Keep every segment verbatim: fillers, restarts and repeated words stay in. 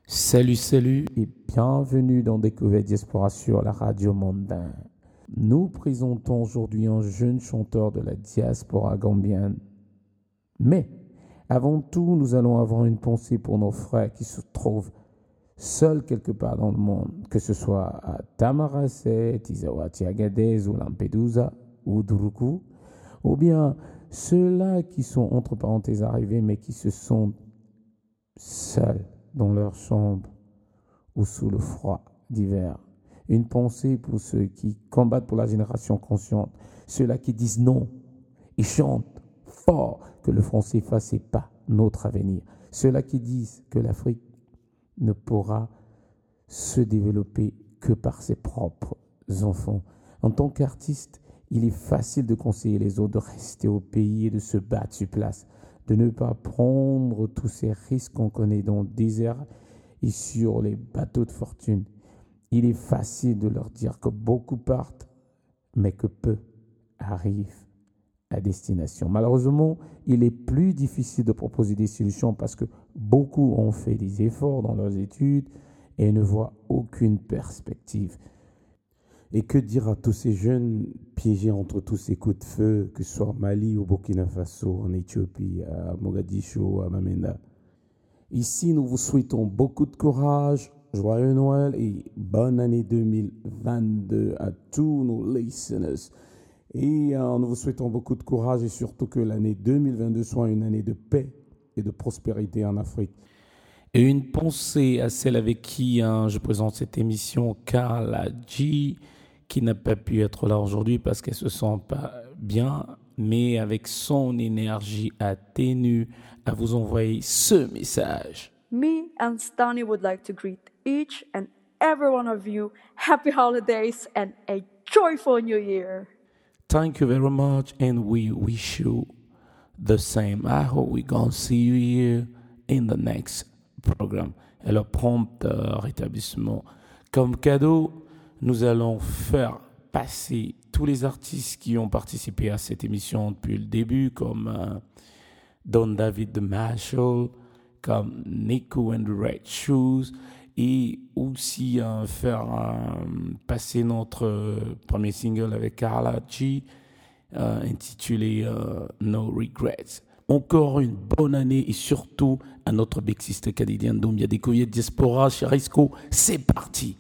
Salut, salut et bienvenue dans Découverte Diaspora sur la radio Mondain. Nous présentons aujourd'hui un jeune chanteur de la diaspora gambienne. Mais avant tout, nous allons avoir une pensée pour nos frères qui se trouvent seuls quelque part dans le monde, que ce soit à Tamaracé, Tizawati, Agadez ou Lampedusa ou Duruku, ou bien ceux-là qui sont entre parenthèses arrivés mais qui se sentent seuls dans leur chambre ou sous le froid d'hiver. Une pensée pour ceux qui combattent pour la génération consciente, ceux-là qui disent non et chantent fort que le franc C F A c'est pas notre avenir, ceux-là qui disent que l'Afrique ne pourra se développer que par ses propres enfants. En tant qu'artiste, il est facile de conseiller les autres de rester au pays et de se battre sur place, de ne pas prendre tous ces risques qu'on connaît dans le désert et sur les bateaux de fortune. Il est facile de leur dire que beaucoup partent, mais que peu arrivent à destination. Malheureusement, il est plus difficile de proposer des solutions parce que beaucoup ont fait des efforts dans leurs études et ne voient aucune perspective. Et que dire à tous ces jeunes piégés entre tous ces coups de feu, que ce soit au Mali, au Burkina Faso, en Éthiopie, à Mogadiscio, à Bamenda. Ici, nous vous souhaitons beaucoup de courage, joyeux Noël et bonne année deux mille vingt-deux à tous nos listeners. Et euh, nous vous souhaitons beaucoup de courage et surtout que l'année deux mille vingt-deux soit une année de paix et de prospérité en Afrique. Et une pensée à celle avec qui hein, je présente cette émission, Carla G, qui n'a pas pu être là aujourd'hui parce qu'elle se sent pas bien, mais avec son énergie atténue, à vous envoyer ce message. Me and Stani would like to greet each and every one of you happy holidays and a joyful new year. Thank you very much and we wish you the same. I hope we're going to see you here in the next program. Et le prompt euh, rétablissement. Comme cadeau, nous allons faire passer tous les artistes qui ont participé à cette émission depuis le début, comme euh, Don David the Marshall, comme Nico and the Red Shoes, et aussi euh, faire euh, passer notre euh, premier single avec Carla G, euh, intitulé euh, No Regrets. Encore une bonne année et surtout à notre big sister canadienne Dombia Découverte Diaspora chez Risco. C'est parti!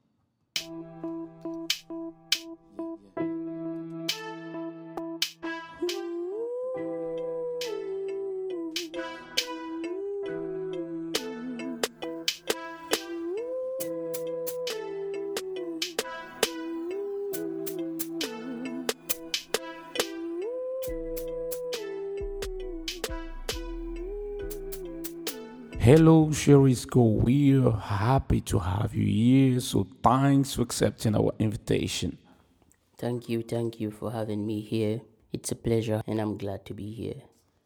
Hello, Sherisco. We're happy to have you here, so thanks for accepting our invitation. Thank you, thank you for having me here. It's a pleasure and I'm glad to be here.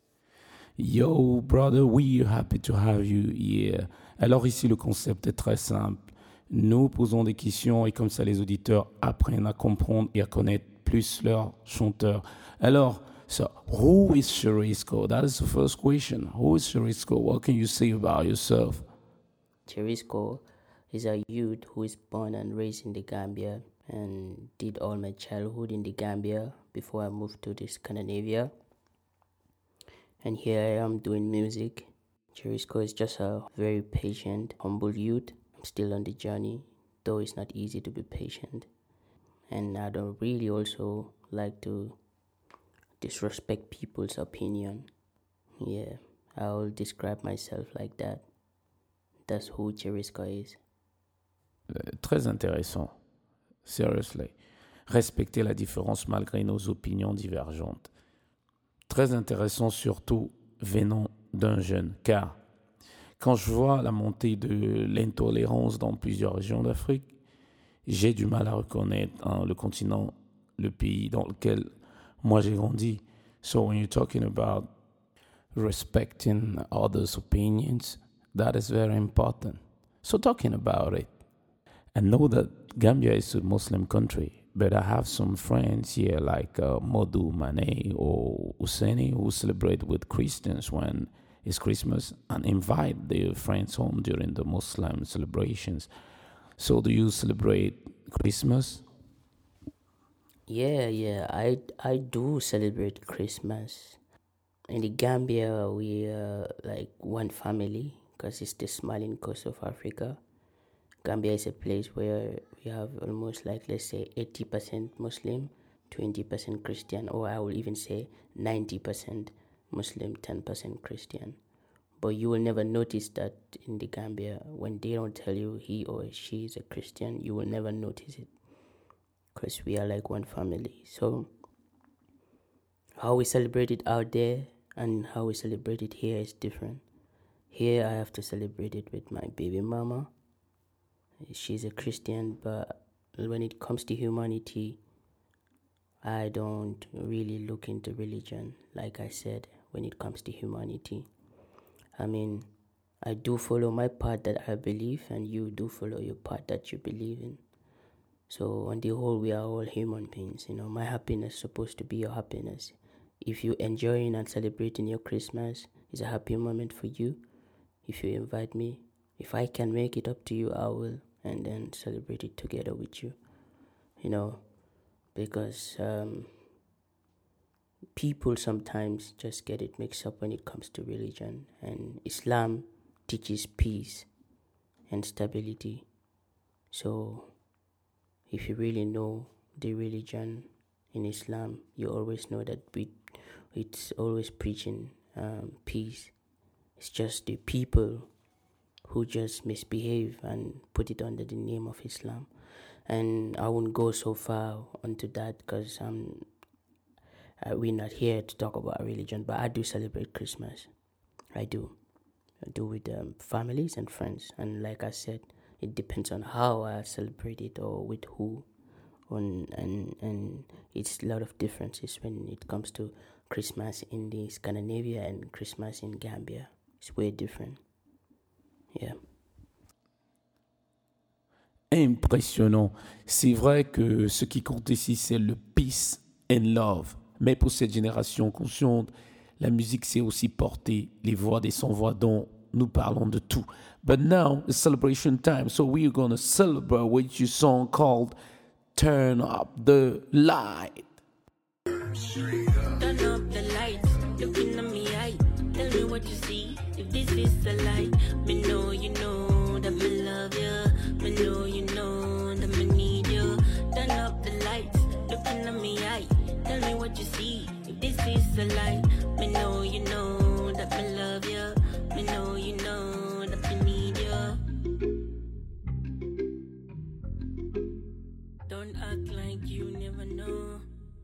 Yo, brother, we're happy to have you here. Alors ici, le concept est très simple. Nous posons des questions et comme ça, les auditeurs apprennent à comprendre et à connaître plus leur chanteur. Alors, so, who is Sherisco? That is the first question. Who is Sherisco? What can you say about yourself? Cherisco is a youth who is born and raised in the Gambia and did all my childhood in the Gambia before I moved to this Scandinavia. And here I am doing music. Cherisco is just a very patient, humble youth. I'm still on the journey, though it's not easy to be patient. And I don't really also like to disrespect people's opinion. Yeah, I'll describe myself like that. That's who Cherisco is. Euh, très intéressant. Seriously. Respecter la différence malgré nos opinions divergentes. Très intéressant surtout venant d'un jeune, car quand je vois la montée de l'intolérance dans plusieurs régions d'Afrique, j'ai du mal à reconnaître hein, le continent, le pays dans lequel moi j'ai grandi. So when you're talking about respecting others' opinions, that is very important. So talking about it, I know that Gambia is a Muslim country, but I have some friends here like uh, Modu Mane or Useni who celebrate with Christians when is Christmas and invite their friends home during the Muslim celebrations. So do you celebrate Christmas? Yeah, yeah, I I do celebrate Christmas. In the Gambia, we are like one family because it's the smiling coast of Africa. Gambia is a place where we have almost like, let's say, eighty percent Muslim, twenty percent Christian, or I will even say ninety percent Muslim, ten percent Christian. But you will never notice that in the Gambia. When they don't tell you he or she is a Christian, you will never notice it because we are like one family. So how we celebrate it out there and how we celebrate it here is different. Here I have to celebrate it with my baby mama. She's a Christian, but when it comes to humanity, I don't really look into religion, like I said, when it comes to humanity. I mean, I do follow my part that I believe, and you do follow your part that you believe in. So on the whole, we are all human beings. You know, my happiness is supposed to be your happiness. If you enjoying and celebrating your Christmas, it's a happy moment for you. If you invite me, if I can make it up to you, I will, and then celebrate it together with you. You know, because um, people sometimes just get it mixed up when it comes to religion. And Islam teaches peace and stability. So if you really know the religion in Islam, you always know that we, it's always preaching um, peace. It's just the people who just misbehave and put it under the name of Islam. And I won't go so far onto that because um, uh, we're not here to talk about religion, but I do celebrate Christmas. I do. I do with um, families and friends. And like I said, it depends on how I celebrate it or with who. On, and, and it's a lot of differences when it comes to Christmas in the Scandinavia and Christmas in Gambia. It's way different. Yeah. Impressionnant. C'est vrai que ce qui compte ici, c'est le peace and love. Mais pour cette génération consciente, la musique, c'est aussi porter les voix des sans-voix dont nous parlons de tout. But now, it's celebration time, so we're going to celebrate with your song called Turn Up the Light. Turn up the lights, looking at me eye. Tell me what you see, if this is a lie. Me know you know that me love you. Me know you know that me need you. Turn up the lights, looking at me eye. Tell me what you see, if this is a lie. Me know you know that me love you. Me know you know that me need you. Don't act like you never know.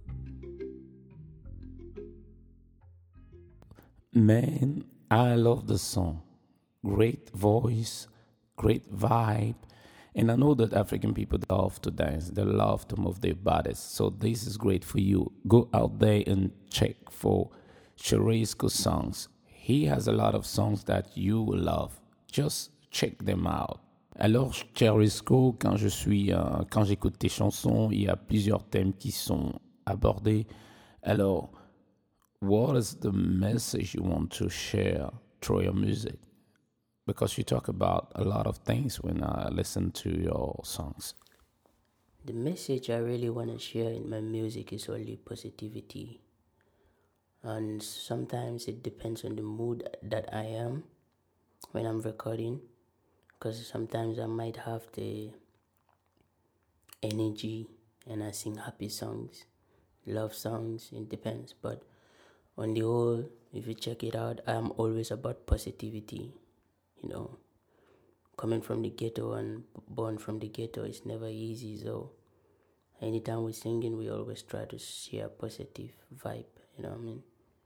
Man, I love the song. Great voice, great vibe. And I know that African people love to dance. They love to move their bodies. So this is great for you. Go out there and check for Cherisco's songs. He has a lot of songs that you will love. Just check them out. Alors, Cherisco, quand je suis, euh, quand j'écoute tes chansons, il y a plusieurs thèmes qui sont abordés. Alors, what is the message you want to share through your music? Because you talk about a lot of things when I listen to your songs. The message I really want to share in my music is only positivity. And sometimes it depends on the mood that I am when I'm recording. Because sometimes I might have the energy and I sing happy songs, love songs, it depends. But on the whole, if you check it out, I'm always about positivity. You know, coming from the ghetto and born from the ghetto is never easy. So anytime we're singing, we always try to share a positive vibe. You know what I mean?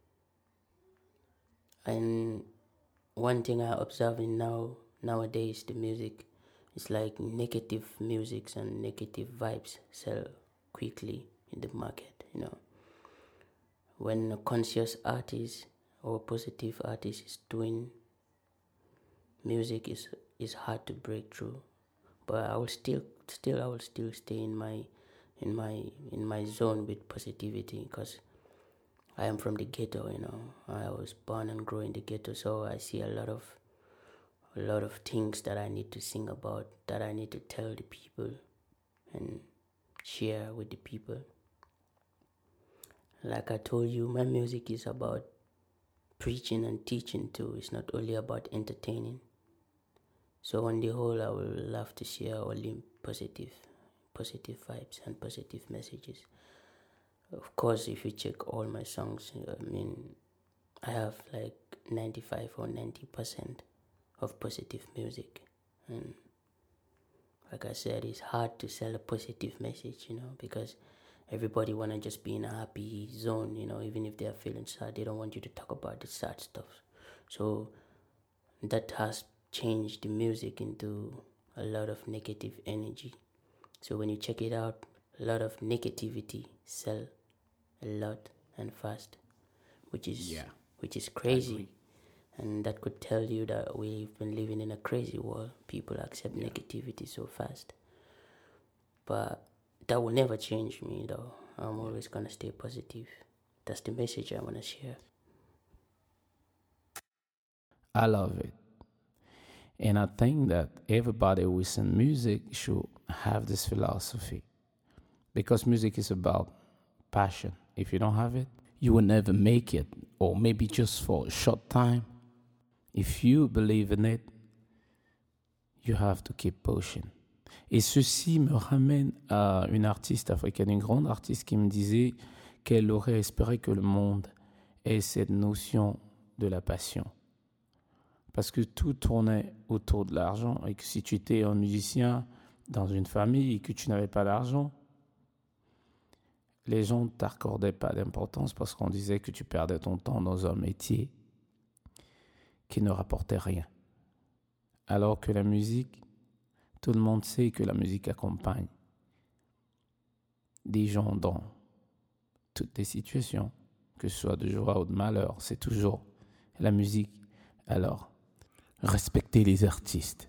And one thing I observe in now nowadays, the music is like negative musics and negative vibes sell quickly in the market. You know, when a conscious artist or positive artist is doing music, is is hard to break through. But I will still still I will still stay in my in my in my zone with positivity, because I am from the ghetto, you know. I was born and grew in the ghetto, so I see a lot of a lot of things that I need to sing about, that I need to tell the people and share with the people. Like I told you, my music is about preaching and teaching too. It's not only about entertaining. So on the whole, I would love to share only positive, positive vibes and positive messages. Of course, if you check all my songs, I mean, I have like ninety-five or ninety percent of positive music. And like I said, it's hard to sell a positive message, you know, because everybody want to just be in a happy zone, you know, even if they are feeling sad, they don't want you to talk about the sad stuff. So that has changed the music into a lot of negative energy. So when you check it out, a lot of negativity sell a lot and fast, which is yeah, which is crazy. And that could tell you that we've been living in a crazy world. People accept yeah. negativity so fast. But that will never change me, though. I'm always going to stay positive. That's the message I want to share. I love it. And I think that everybody who listens to music should have this philosophy. Because music is about passion. If you don't have it, you will never make it. Or maybe just for a short time. If you believe in it, you have to keep pushing. Et ceci me ramène à une artiste africaine, une grande artiste qui me disait qu'elle aurait espéré que le monde ait cette notion de la passion. Parce que tout tournait autour de l'argent et que si tu étais un musicien dans une famille et que tu n'avais pas d'argent, les gens ne t'accordaient pas d'importance parce qu'on disait que tu perdais ton temps dans un métier qui ne rapportait rien. Alors que la musique, tout le monde sait que la musique accompagne des gens dans toutes les situations, que ce soit de joie ou de malheur, c'est toujours la musique. Alors, respectez les artistes.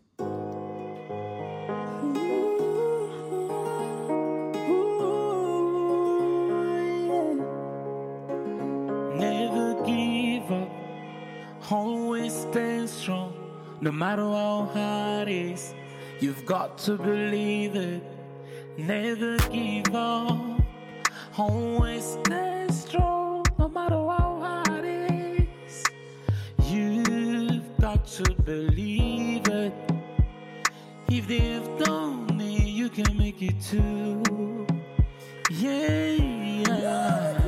Never give up, always stand strong, no matter how hard it is. You've got to believe it. Never give up. Always stay strong, no matter how hard it is. You've got to believe it. If they've done it, you can make it too. Yeah, yeah.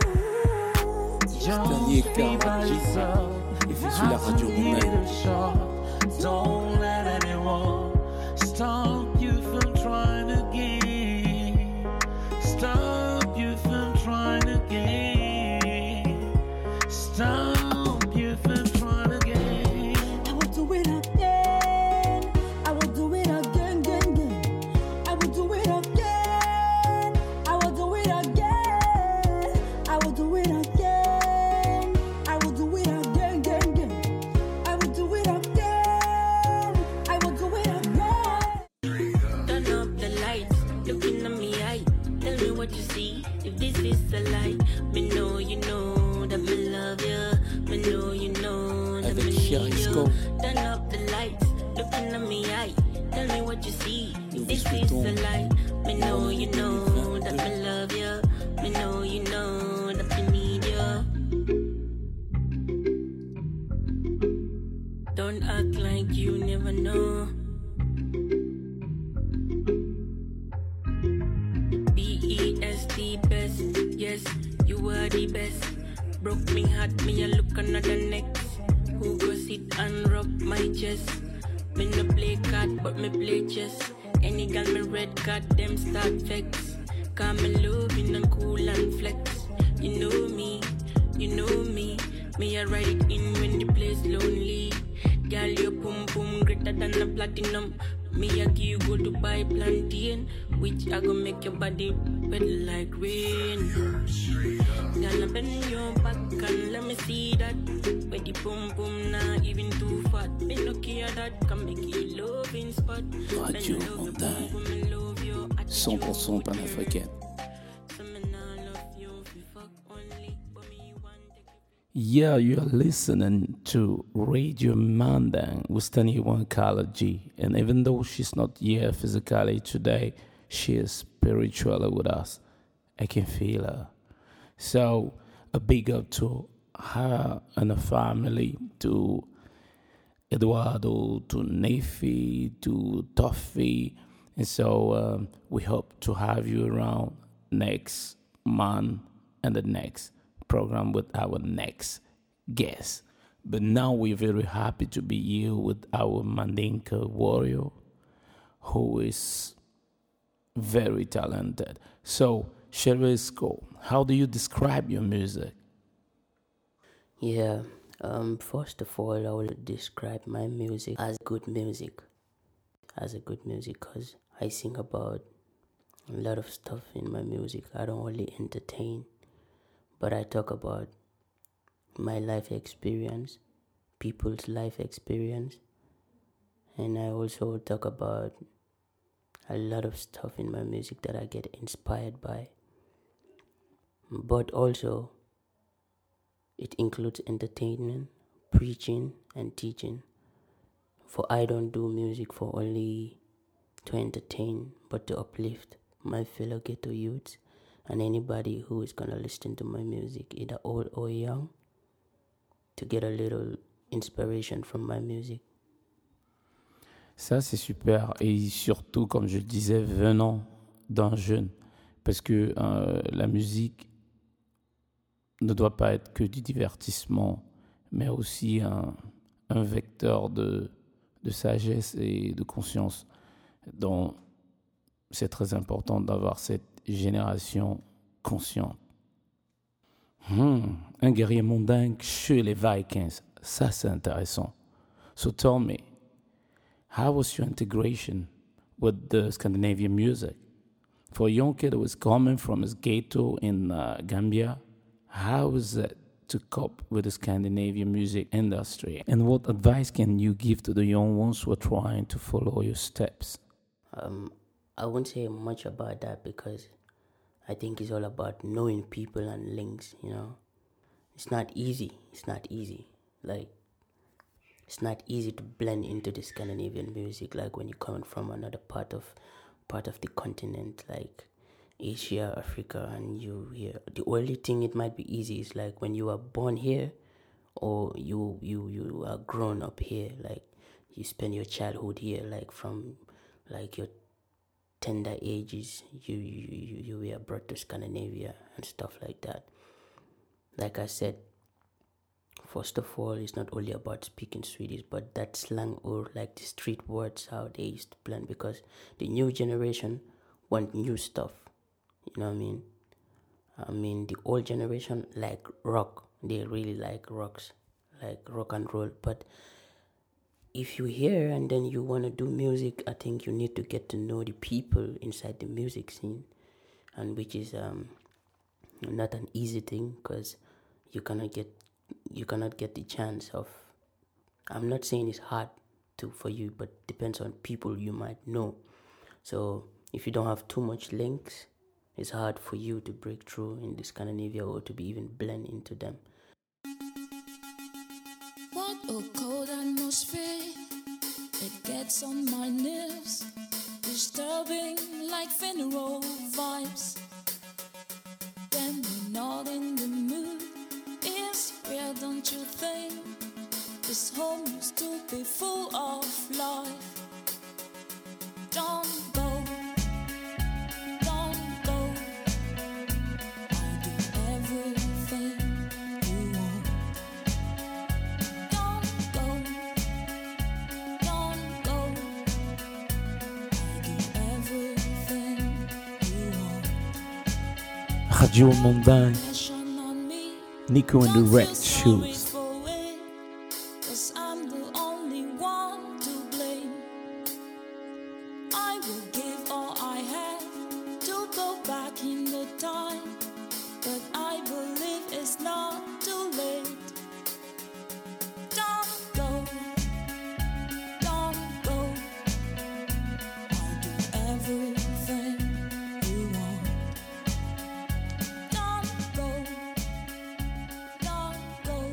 Just be by yourself. If it's la radio mondaine. Don't let anyone stop you from trying again. Stop you from trying again. Stop you from trying again. I will do it again. I will do it again, again, again. I will do it again. I will do it again. I will do it again. I will do it again, again, again. I will do it again. I will do it again. Turn up the lights, looking at me eye. Tell me what you see, if this is a lie. Me know you know that me love you. Me know you know that me need you. Turn up the lights, looking at me eye. Tell me what you see, if this is a lie. Me know you know that me love you. Me know you know that me need you. Don't act like you never know. B E S T best, yes, you are the best. Broke me heart, me a look another next. Who go sit and rub my chest? Me no play card, but me play chess. Any gal me red card, them start vex. Cause me loving and cool and flex. You know me, you know me. Me a ride it in when the place lonely. Girl, your pum pum greater than a platinum. Me a give you go to buy plantain, which I go make your body wet like rain. Girl, I bend your back and let me see that. Where the pum pum not even too fat. Me no care that can make you loving spot. Radio Mondaine, cent pour cent panafricaine. So me nah love you if you fuck only, but me you Yeah, you're listening to Radio Mandang with Taniwan Kalaji. And even though she's not here physically today, she is spiritually with us. I can feel her. So, a big up to her and her family, to Eduardo, to Nefi, to Toffee. And so, um, we hope to have you around next month and the next program with our next guest. But now we're very happy to be here with our Mandinka warrior, who is very talented. So, Cherisco, how do you describe your music? Yeah, um, first of all, I will describe my music as good music. As a good music, because I sing about a lot of stuff in my music. I don't only entertain, but I talk about my life experience, people's life experience, and I also talk about a lot of stuff in my music that I get inspired by. But also, it includes entertainment, preaching, and teaching. For I don't do music for only to entertain, but to uplift my fellow ghetto youths and anybody who is gonna listen to my music, either old or young, to get a little inspiration from my music. Ça, c'est super. Et surtout, comme je le disais, venant d'un jeune. Parce que euh, la musique ne doit pas être que du divertissement, mais aussi un, un vecteur de, de sagesse et de conscience. Donc, c'est très important d'avoir cette génération consciente. Hmm, un guerrier mondain chez les Vikings. Ça, c'est intéressant. So tell me, how was your integration with the Scandinavian music? For a young kid who was coming from his ghetto in uh, Gambia, how was it to cope with the Scandinavian music industry? And what advice can you give to the young ones who are trying to follow your steps? Um, I won't say much about that because I think it's all about knowing people and links, you know. It's not easy. It's not easy. Like, it's not easy to blend into the Scandinavian music, like when you're coming from another part of part of the continent, like Asia, Africa, and you here. The only thing it might be easy is like when you are born here, or you you you are grown up here, like you spend your childhood here, like from like your tender ages, you you you, you were brought to Scandinavia and stuff like that. Like I said, first of all, it's not only about speaking Swedish, but that slang or like the street words, how they used to blend, because the new generation want new stuff. You know what I mean? I mean, the old generation like rock. They really like rocks, like rock and roll. But if you're here and then you want to do music, I think you need to get to know the people inside the music scene, and which is um not an easy thing, because you cannot get you cannot get the chance of. I'm not saying it's hard to for you, but depends on people you might know. So if you don't have too much links, it's hard for you to break through in the Scandinavia or to be even blend into them. What a cold atmosphere, it gets on my nerves, disturbing like funeral vibes. When we're not in the mood, it's real, don't you think? This home used to be full of life. Don't go, don't go. I do everything you want. Don't go, don't go. I do everything you want. Radio Mondagne, Passion on me. Nico and the Don't Red feel sorry Shoes. for it, 'cause I'm the only one to blame. I will give all I have to go back in the time, but I believe it's not too late. Don't go, don't go. I do everything you want. Don't go, don't go.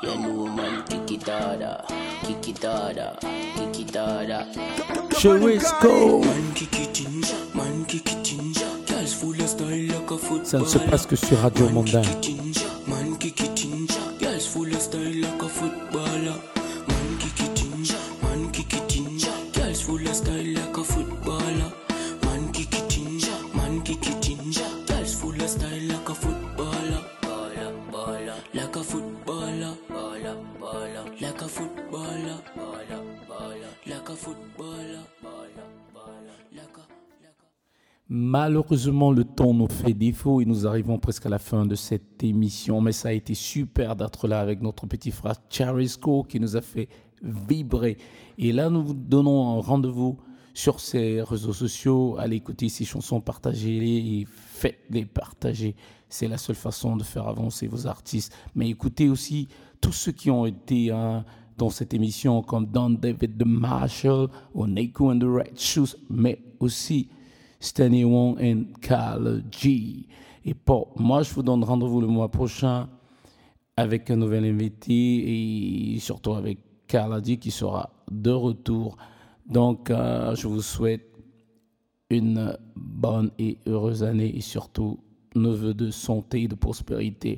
You know man, kick it harder, kick it harder, kick it harder. Charisco. Man kick it ginger, man kick it ginger. Girls full of style like a footballer. Ça ne se passe que sur Radio Mondain. Man kick it ginger, girls full of style like a footballer. Man kick it ginger, man kick it ginger. Girls full of style like a footballer. Man kick it ginger, man kick it ginger. Girls full of style like a footballer. Baller, baller, like a footballer. Baller, baller, like a footballer. Baller, baller, like a footballer. Baller, baller, like a. Malheureusement, le temps nous fait défaut et nous arrivons presque à la fin de cette émission. Mais ça a été super d'être là avec notre petit frère Charisco qui nous a fait vibrer. Et là, nous vous donnons un rendez-vous sur ces réseaux sociaux. Allez écouter ces chansons, partagez-les et faites-les partager. C'est la seule façon de faire avancer vos artistes. Mais écoutez aussi tous ceux qui ont été hein, dans cette émission comme Don David the Marshall ou Neko and the Red Shoes, mais aussi Stanley Wong et Carl G. Et pour moi, je vous donne rendez-vous le mois prochain avec un nouvel invité et surtout avec Carl G qui sera de retour. Donc, euh, je vous souhaite une bonne et heureuse année et surtout nos vœux de santé et de prospérité.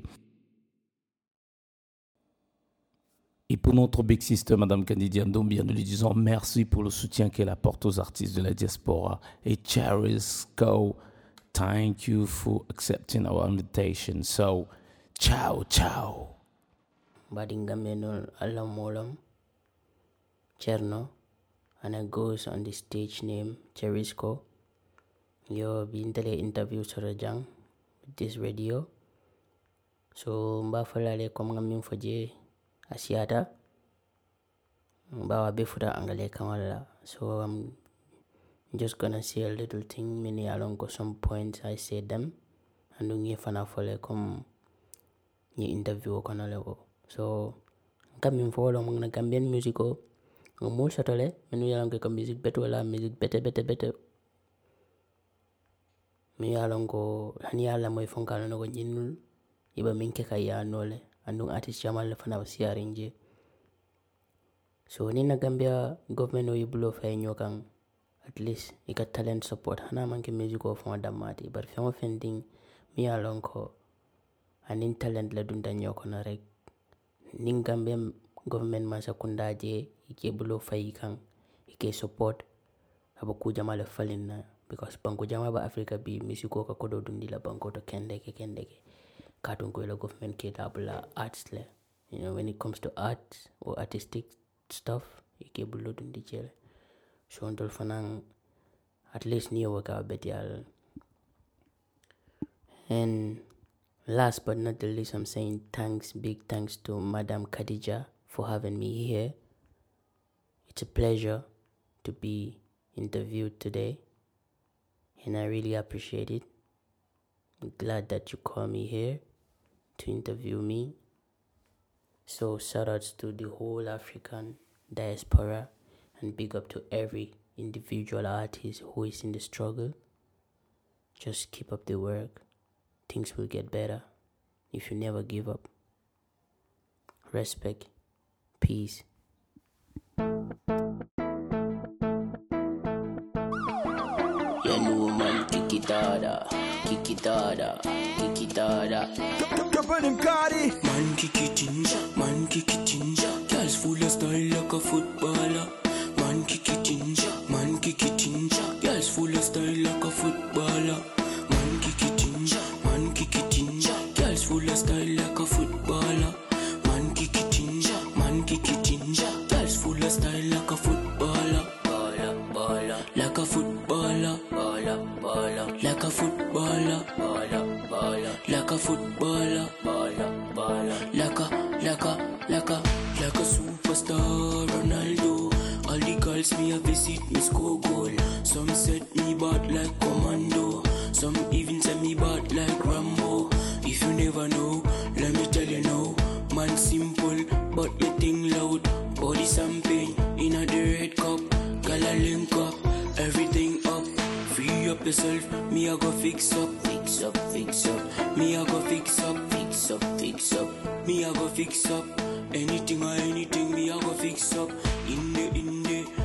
Et pour notre big sister, Madame Candidiane Doumbia, nous lui disons merci pour le soutien qu'elle apporte aux artistes de la diaspora. Et Charisco, thank you for accepting our invitation. So, ciao, ciao. Badingamenol alamolam, Cherno, and I goes on the stage name Charisco. Yo been tele interview sorajang with this radio. So mba falale kom ngamin faje asiata. Mba wa befuta angale kamala. So I'm just gonna say a little thing. Many along go some points I say them. And dungi fana fole kom ni interview kono lewo. So ngamin follow mga Gambian musico. Ngomul satole menu yalang ke music beto la music bete bete bete. Mi yalongo hani yalla moy fonkalo no ko jinnul iba minke kaya nole andung artist jamal le fana wasiarinje. So ni na Gambia government o yibulo fay nyokang at least ika talent support hana manke music of fond damati but famo fending mi yalongo anin talent la dunda nyoko na rek ning Gambia government ma sakunda je ike bulo fay kan ike support abaku jamal falin na because banko jama ba Africa bi misiko ka kodo dundi la banko to kendeke kendeke katun ko la government ke dabla arts le you know when it comes to art or artistic stuff ike bulo dundi jele so ndol fanang at least ni waka betial. And last but not the least, I'm saying thanks, big thanks to Madam Khadija for having me here. It's a pleasure to be interviewed today, and I really appreciate it. I'm glad that you called me here to interview me. So shout outs to the whole African diaspora and big up to every individual artist who is in the struggle. Just keep up the work. Things will get better if you never give up. Respect. Peace. You know man, kick it harder, kick it harder, kick it harder. Man kick it ginger, man kick it ginger. Girls full of style like a footballer. Man kick it ginger, man kick it ginger. Girls full of style like a footballer. Man kick it ginger, man kick it ginger. Girls full of style like a footballer. Man kick it ginger, man kick it ginger. Girls full of style like a footballer. Baller, baller, Like a footballer, baller, baller, like a footballer, baller, baller, like a footballer, baller, baller. like a, like a, like a, like a superstar Ronaldo. All the girls me a visit me score goal. Some set me bad like commando. Some even set me bad like Rambo. If you never know, let me tell you now. Man simple, but me thing loud. Body champagne in a the red cup. Gala link up, everything up. Free up yourself, me I go fix up, Fix up, fix up, me I go fix up, fix fix up, fix up. Me I go fix up. Anything or anything, me I go fix up. In the, in the.